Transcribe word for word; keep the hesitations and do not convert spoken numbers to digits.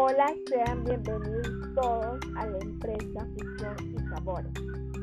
Hola, sean bienvenidos todos a la empresa Fusión y Sabores.